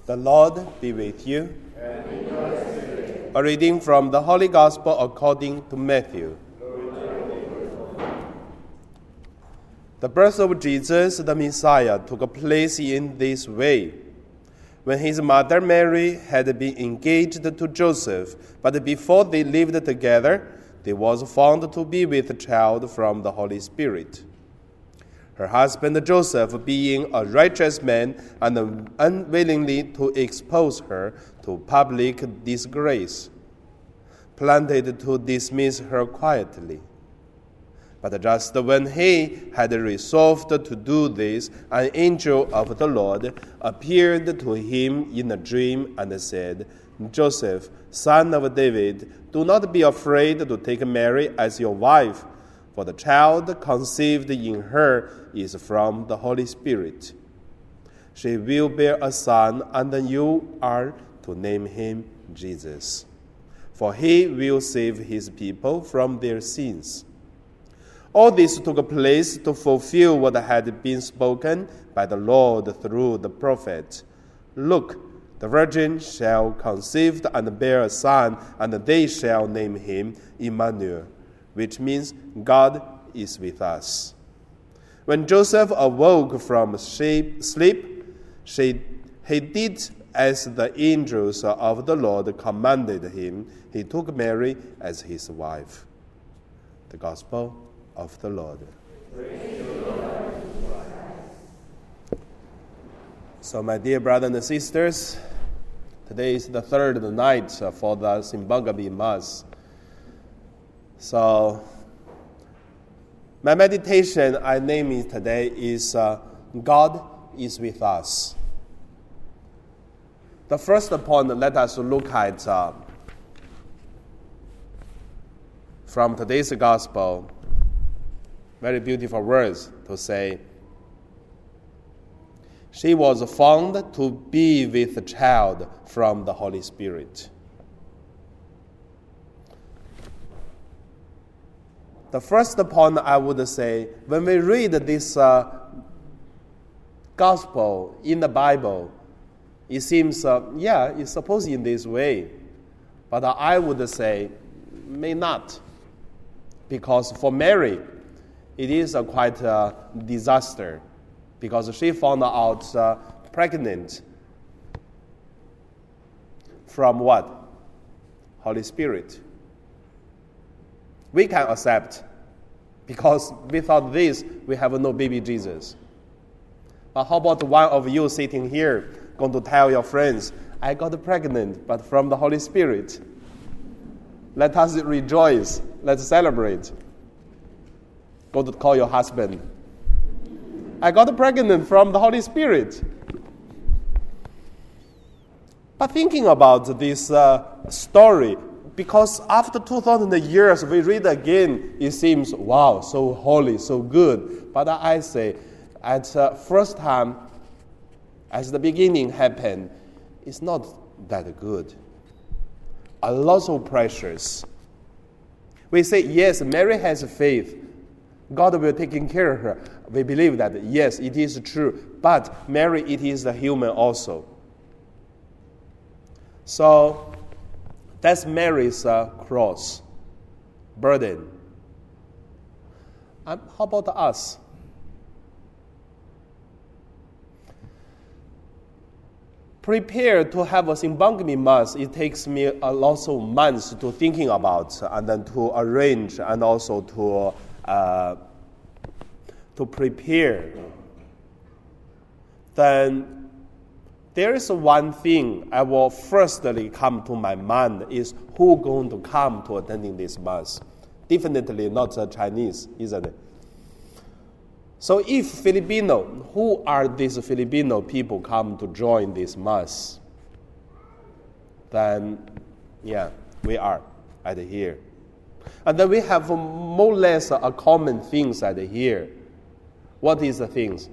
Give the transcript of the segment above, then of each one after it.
The Lord be with you. And with your spirit. A reading from the Holy Gospel according to Matthew. The birth of Jesus, the Messiah, took place in this way. When his mother Mary had been engaged to Joseph, but before they lived together, there was found to be with child from the Holy Spirit. Her husband Joseph, being a righteous man and unwillingly to expose her to public disgrace, planned to dismiss her quietly. But just when he had resolved to do this, an angel of the Lord appeared to him in a dream and said, "Joseph, son of David, do not be afraid to take Mary as your wife, for the child conceived in her is from the Holy Spirit. She will bear a son, and you are to name him Jesus, for he will save his people from their sins." All this took place to fulfill what had been spoken by the Lord through the prophet. "Look, the virgin shall conceive and bear a son, and they shall name him Emmanuel," which means God is with us. When Joseph awoke from sleep, he did as the angels of the Lord commanded him. He took Mary as his wife. The Gospel of the Lord. Praise you, Lord. So, my dear brothers and sisters, today is the third night for the Simbangami Mass. So, my meditation I name it today is God is with us. The first point, let us look at from today's Gospel. Very beautiful words to say. She was found to be with a child from the Holy Spirit. The first point I would say, when we read this gospel in the Bible, it seems, it's supposed in this way. But I would say, may not. Because for Mary, it is quite a disaster, because she found out pregnant from what? Holy Spirit. We can accept, because without this, we have no baby Jesus. But how about one of you sitting here going to tell your friends, "I got pregnant, but from the Holy Spirit"? Let us rejoice. Let's celebrate. Go to call your husband. "I got pregnant from the Holy Spirit." But thinking about this story, because after 2,000 years we read again, it seems, wow, so holy, so good. But I say, at first time, as the beginning happened, it's not that good. A lot so precious. We say, yes, Mary has faith. God will take care of her. We believe that, yes, it is true. But Mary, it is a human also. So that's Mary's cross, burden. How about us? Prepare to have a Simbangami Mass, it takes me a lot of months to thinking about, and then to arrange, and also to prepare. Then there is one thing I will firstly come to my mind is who going to come to attending this Mass. Definitely not Chinese, isn't it? So if Filipino, who are these Filipino people come to join this Mass? Then, we are at here. And then we have more or less a common things at here. What is the things?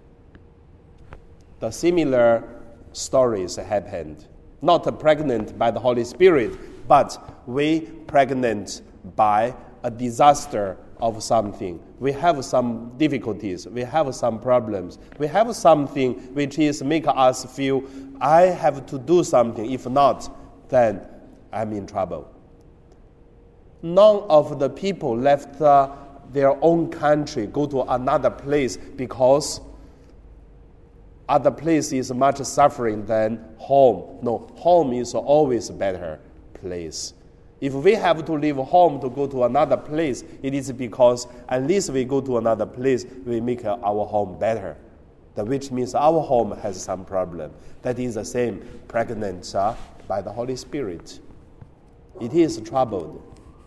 The similar stories happened. Not pregnant by the Holy Spirit, but we pregnant by a disaster of something. We have some difficulties. We have some problems. We have something which is make us feel, I have to do something. If not, then I'm in trouble. None of the people left their own country, go to another place because other place is much suffering than home. No, home is always a better place. If we have to leave home to go to another place, it is because at least we go to another place, we make our home better. Which means our home has some problem. That is the same pregnant by the Holy Spirit. It is troubled.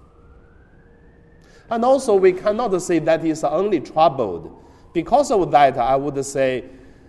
And also we cannot say that is only troubled. Because of that, I would say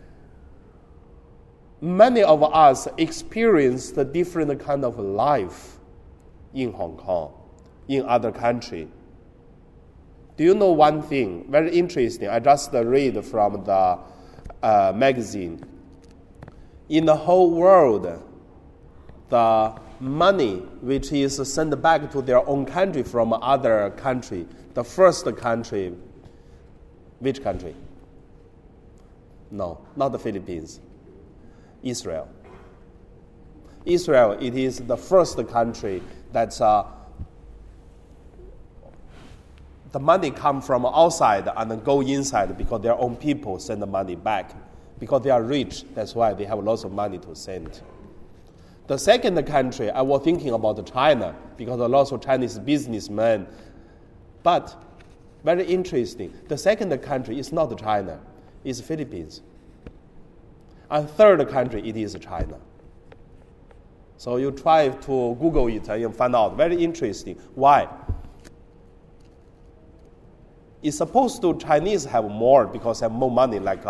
many of us experienced a different kind of life in Hong Kong, in other country. Do you know one thing? Very interesting. I just read from the magazine. In the whole world, the money which is sent back to their own country from other country, the first country, which country? No, not the Philippines. Israel. Israel, it is the first country that the money come from outside and then go inside because their own people send the money back. Because they are rich, that's why they have lots of money to send. The second country, I was thinking about China, because a lot of Chinese businessmen. But, very interesting, the second country is not China, it's Philippines. And third country, it is China. So you try to Google it and you find out. Very interesting. Why? It's supposed to Chinese have more because they have more money like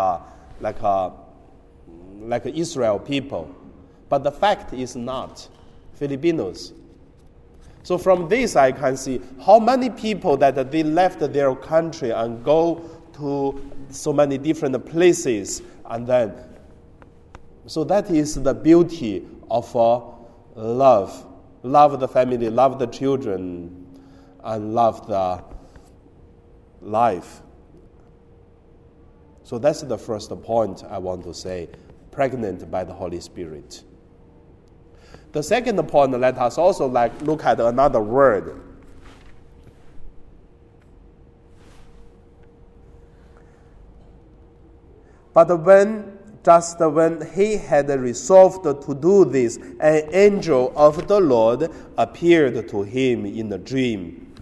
Israel people. But the fact is not. Filipinos. So from this I can see how many people that they left their country and go to so many different places. And then, so that is the beauty of love. Love the family, love the children, and love the life. So that's the first point I want to say. Pregnant by the Holy Spirit. The second point, let us also look at another word. But when he had resolved to do this, an angel of the Lord appeared to him in a dream.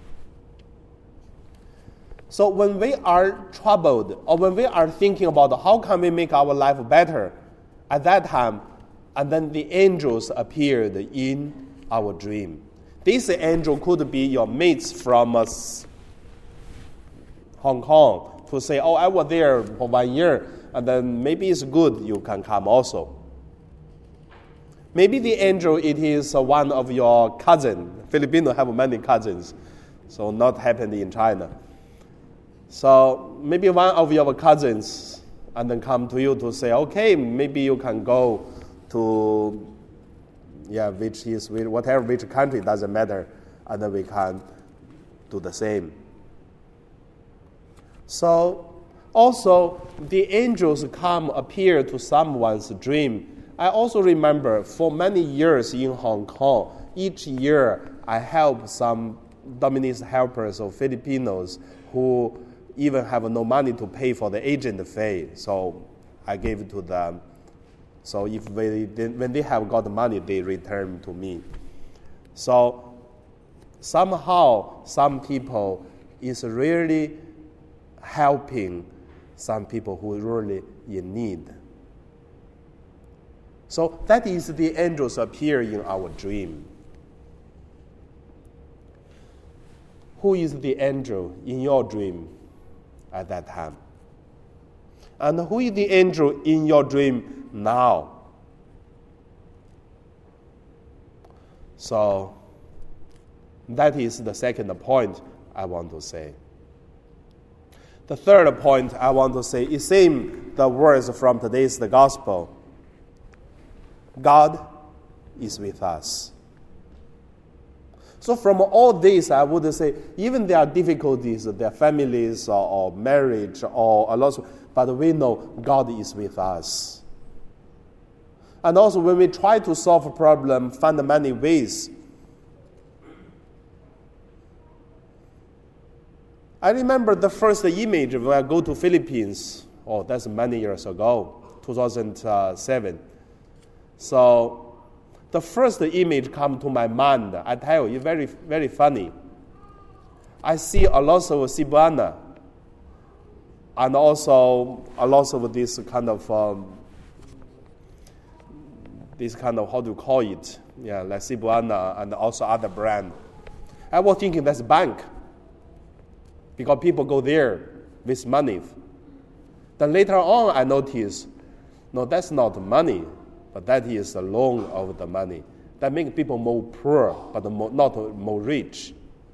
So when we are troubled, or when we are thinking about how can we make our life better, at that time, and then the angels appeared in our dream. This angel could be your mates from Hong Kong to say, I was there for 1 year, and then maybe it's good you can come also. Maybe the angel, it is one of your cousins. Filipinos have many cousins, so not happened in China. So maybe one of your cousins and then come to you to say, okay, maybe you can go to, which country, doesn't matter, and then we can do the same. So also the angels appear to someone's dream. I also remember for many years in Hong Kong, each year I help some Dominic's helpers or Filipinos who even have no money to pay for the agent fee. So I gave it to them. So when they have got the money, they return to me. So somehow some people is really helping some people who are really in need. So that is the angels appear in our dream. Who is the angel in your dream at that time? And who is the angel in your dream now? So that is the second point I want to say. The third point I want to say is same the words from today's the gospel. God is with us. So from all this, I would say, even there are difficulties, their families or marriage or a lot, but we know God is with us. And also when we try to solve a problem, find many ways. I remember the first image when I go to Philippines. Oh, that's many years ago, 2007. So the first image come to my mind. I tell you, very, very funny. I see a lot of Cebuana, and also a lot of this kind of how do you call it? Yeah, like Cebuana and also other brand. I was thinking that's bank, because people go there with money. Then later on, I noticed, no, that's not money, but that is the loan of the money. That makes people more poor, but not more rich.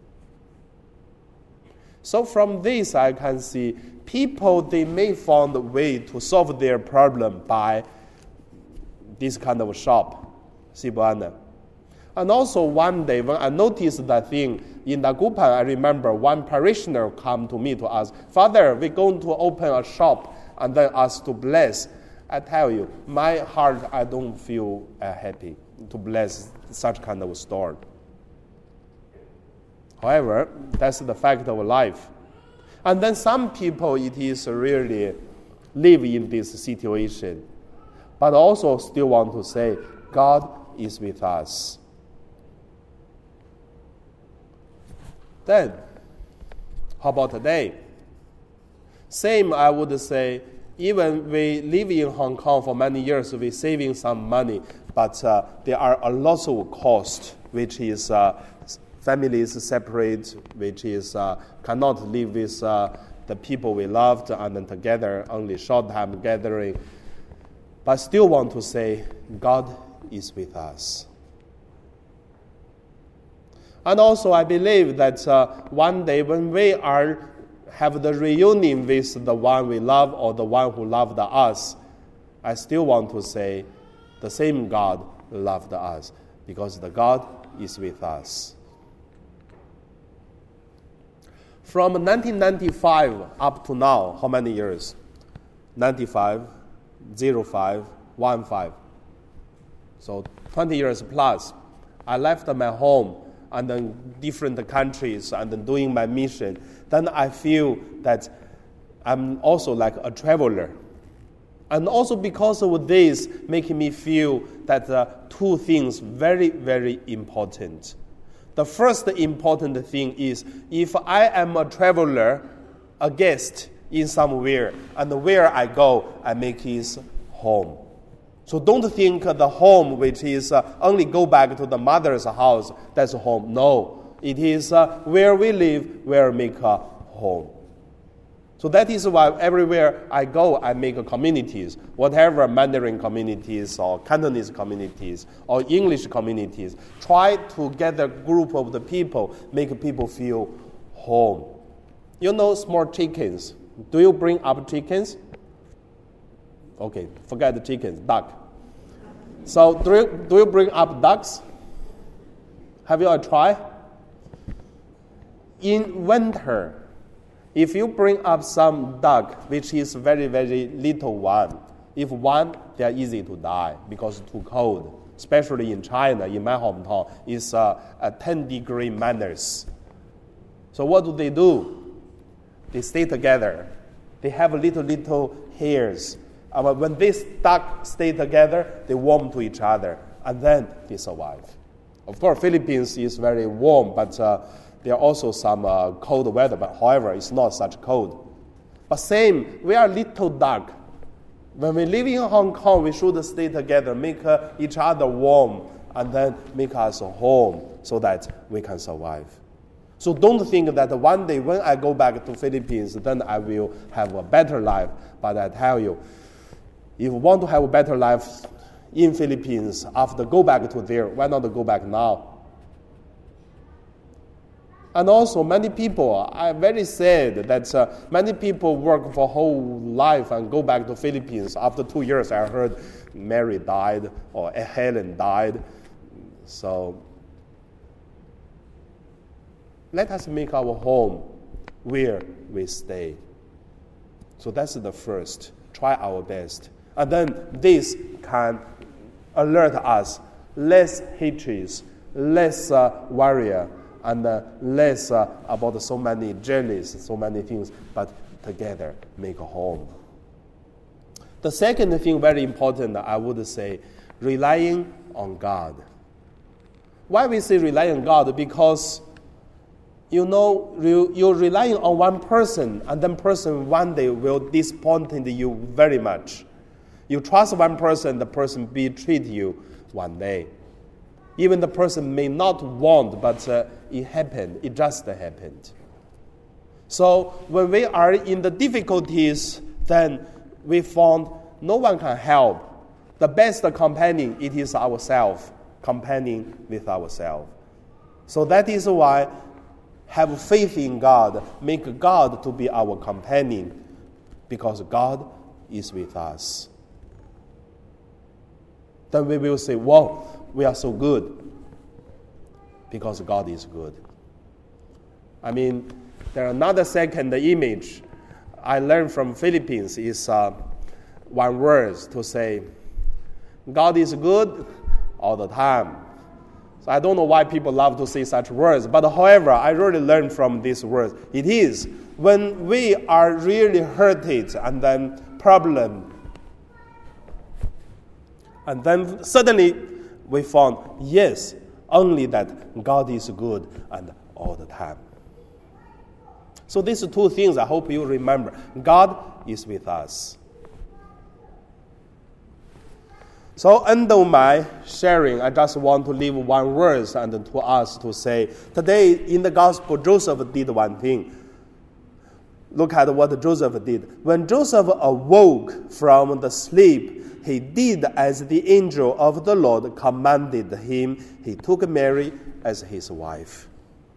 So from this, I can see people, they may find a way to solve their problem by this kind of shop, Cebuana. And also one day, when I noticed that thing in Dagupan, I remember one parishioner come to me to ask, Father, we're going to open a shop and then ask to bless. I tell you, my heart, I don't feel happy to bless such kind of store. However, that's the fact of life. And then some people, it is really live in this situation, but also still want to say, God is with us. Then, how about today? Same, I would say, even we live in Hong Kong for many years, we're saving some money, but there are a lot of cost, which is families separate, which is cannot live with the people we loved and then together, only short time gathering. But still want to say, God is with us. And also I believe that one day when we have the reunion with the one we love or the one who loved us, I still want to say the same God loved us, because the God is with us. From 1995 up to now, how many years? 95, 05, 15. So 20 years plus. I left my home and then different countries and then doing my mission. Then I feel that I'm also like a traveler. And also because of this, making me feel that two things very, very important. The first important thing is, if I am a traveler, a guest in somewhere, and where I go, I make it home. So don't think the home, which is only go back to the mother's house, that's home. No, it is where we live, where we make a home. So that is why everywhere I go, I make communities, whatever Mandarin communities or Cantonese communities or English communities. Try to get a group of the people, make people feel home. You know small chickens. Do you bring up chickens? Okay, forget the chickens, duck. So do you bring up ducks? Have you tried? In winter, if you bring up some duck, which is very, very little one, if one, they are easy to die because it's too cold. Especially in China, in my hometown, it's a 10-degree minus. So what do? They stay together. They have little hairs. When these ducks stay together, they warm to each other, and then they survive. Of course, Philippines is very warm, but there are also some cold weather. But however, it's not such cold. But same, we are little duck. When we live in Hong Kong, we should stay together, make each other warm, and then make us home so that we can survive. So don't think that one day when I go back to Philippines, then I will have a better life. But I tell you, if you want to have a better life in Philippines, after go back to there, why not go back now? And also, many people are very sad that many people work for whole life and go back to Philippines. After 2 years, I heard Mary died or Helen died. So let us make our home where we stay. So that's the first. Try our best. And then this can alert us less hatreds, less warrior, and less about so many jealous, so many things, but together make a home. The second thing, very important, I would say, relying on God. Why we say relying on God? Because you're relying on one person, and that person one day will disappoint you very much. You trust one person, the person betray you one day. Even the person may not want, but it happened. It just happened. So when we are in the difficulties, then we found no one can help. The best companion, it is ourselves, companion with ourselves. So that is why have faith in God, make God to be our companion, because God is with us. Then we will say, wow, we are so good, because God is good. I mean, there are another second image I learned from Philippines is one word to say, God is good all the time. So I don't know why people love to say such words, but however, I really learned from these words. It is when we are really hurted and then problem, and then suddenly we found, yes, only that God is good and all the time. So these two things I hope you remember. God is with us. So under my sharing, I just want to leave one verse and to us to say, today in the gospel, Joseph did one thing. Look at what Joseph did. When Joseph awoke from the sleep, he did as the angel of the Lord commanded him. He took Mary as his wife.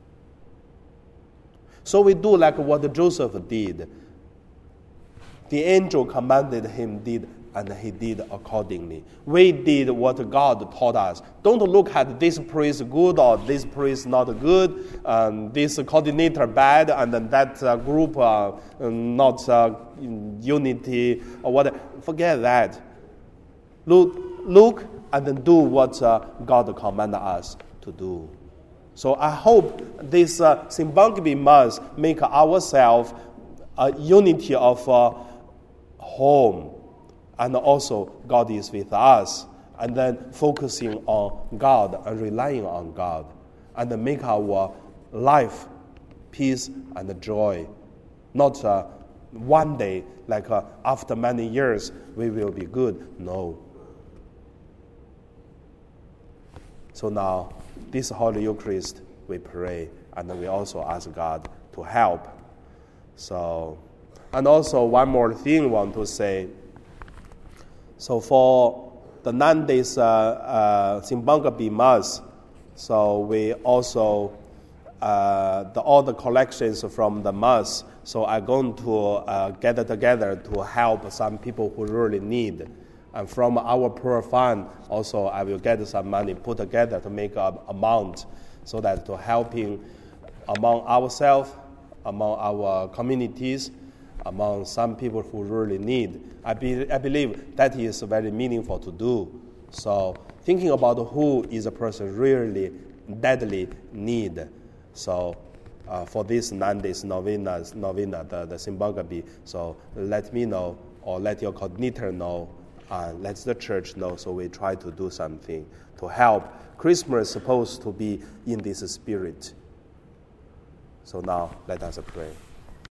So we do like what Joseph did. The angel commanded him, and he did accordingly. We did what God taught us. Don't look at this priest good or this priest not good, this coordinator bad, and then that group not unity or whatever. Forget that. Look and then do what God commanded us to do. So I hope this Simbangbi month make ourselves a unity of home. And also, God is with us. And then focusing on God and relying on God. And then make our life peace and joy. Not one day, like after many years, we will be good. No. So now, this Holy Eucharist, we pray. And then we also ask God to help. So, and also one more thing I want to say. So for the 9 days Simbangbi Mass, so we also all the collections from the Mass. So I'm going to gather together to help some people who really need. And from our poor fund, also I will get some money put together to make an amount, so that to helping among ourselves, among our communities, among some people who really need. I believe that is very meaningful to do. So thinking about who is a person really deadly need. So for this 9 days novena, the Simbangbi, so let me know or let your coordinator know, and let the church know, so we try to do something to help. Christmas is supposed to be in this spirit. So now let us pray.